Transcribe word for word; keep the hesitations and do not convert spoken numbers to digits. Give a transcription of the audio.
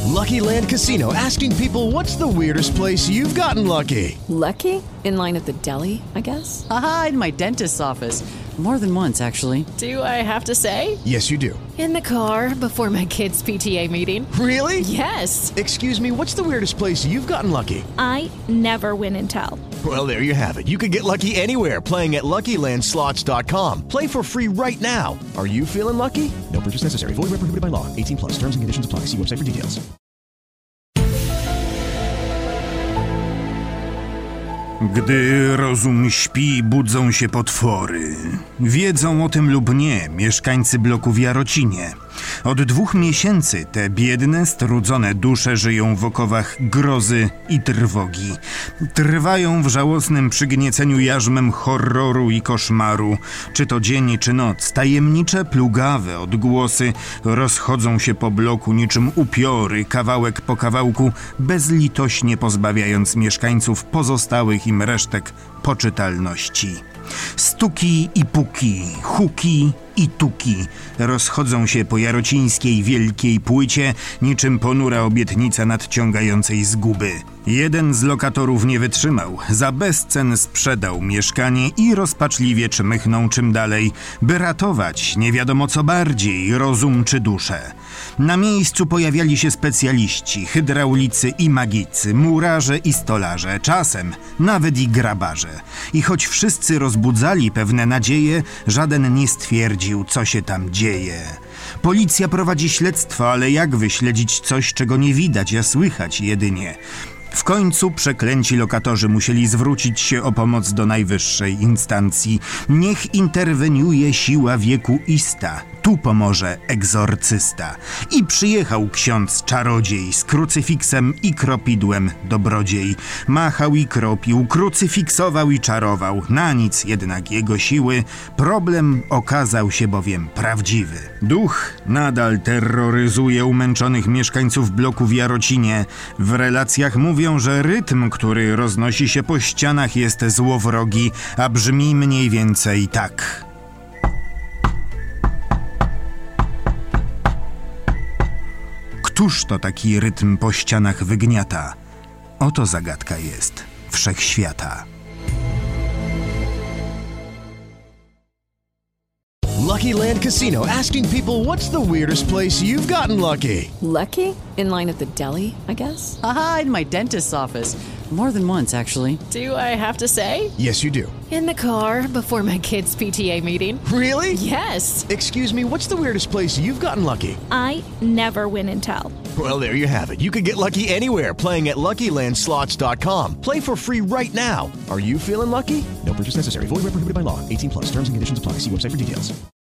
Lucky Land Casino, asking people, what's the weirdest place you've gotten lucky? Lucky? In line at the deli, I guess? Aha, in my dentist's office. More than once, actually. Do I have to say? Yes, you do. In the car before my kids' P T A meeting. Really? Yes. Excuse me, what's the weirdest place you've gotten lucky? I never win and tell. Well, there you have it. You can get lucky anywhere, playing at Lucky Land Slots dot com. Play for free right now. Are you feeling lucky? No purchase necessary. Void where prohibited by law. eighteen plus. Terms and conditions apply. See website for details. Gdy rozum śpi, budzą się potwory. Wiedzą o tym lub nie mieszkańcy bloku w Jarocinie. Od dwóch miesięcy te biedne, strudzone dusze żyją w okowach grozy i trwogi. Trwają w żałosnym przygnieceniu jarzmem horroru i koszmaru. Czy to dzień, czy noc, tajemnicze, plugawe odgłosy rozchodzą się po bloku niczym upiory, kawałek po kawałku, bezlitośnie pozbawiając mieszkańców pozostałych im resztek poczytalności. Stuki i puki, huki i tuki rozchodzą się po jarocińskiej wielkiej płycie niczym ponura obietnica nadciągającej zguby. Jeden z lokatorów nie wytrzymał, za bezcen sprzedał mieszkanie i rozpaczliwie czmychnął czym dalej, by ratować nie wiadomo co bardziej, rozum czy duszę. Na miejscu pojawiali się specjaliści, hydraulicy i magicy, murarze i stolarze, czasem nawet i grabarze. I choć wszyscy rozbudzali pewne nadzieje, żaden nie stwierdził, co się tam dzieje. Policja prowadzi śledztwo, ale jak wyśledzić coś, czego nie widać, a słychać jedynie? W końcu przeklęci lokatorzy musieli zwrócić się o pomoc do najwyższej instancji. Niech interweniuje siła wiekuista. Tu pomoże egzorcysta. I przyjechał ksiądz czarodziej z krucyfiksem i kropidłem dobrodziej. Machał i kropił, krucyfiksował i czarował. Na nic jednak jego siły. Problem okazał się bowiem prawdziwy. Duch nadal terroryzuje umęczonych mieszkańców bloku w Jarocinie. W relacjach mówią, że rytm, który roznosi się po ścianach, jest złowrogi, a brzmi mniej więcej tak. Któż to taki rytm po ścianach wygniata? Oto zagadka jest wszechświata. Lucky Land Casino, asking people, what's the weirdest place you've gotten lucky? Lucky? In line at the deli, I guess? Aha, in my dentist's office. More than once, actually. Do I have to say? Yes, you do. In the car before my kids' P T A meeting. Really? Yes. Excuse me, what's the weirdest place you've gotten lucky? I never win and tell. Well, there you have it. You can get lucky anywhere, playing at Lucky Land Slots dot com. Play for free right now. Are you feeling lucky? No purchase necessary. Void where prohibited by law. eighteen plus. Terms and conditions apply. See website for details.